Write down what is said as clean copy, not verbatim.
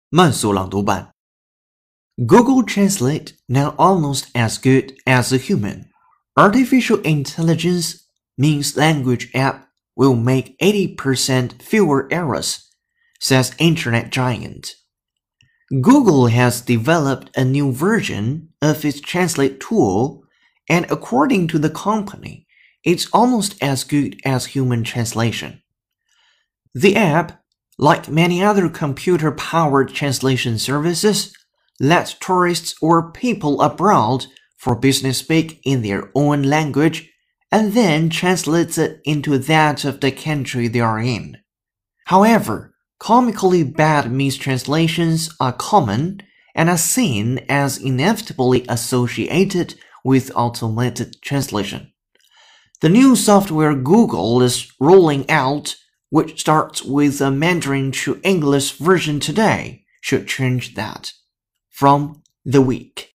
慢速朗读版 Google Translate now almost as good as a human. Artificial intelligence means language app will make 80% fewer errors, says internet giant. Google has developed a new version of its translate tool, and according to the company, it's almost as good as human translation. The app, like many other computer-powered translation services, lets tourists or people abroad for business speak in their own language and then translates it into that of the country they are in. However, comically bad mistranslations are common and are seen as inevitably associated with automated translation. The new software Google is rolling out, which starts with a Mandarin to English version today, should change that. From The Week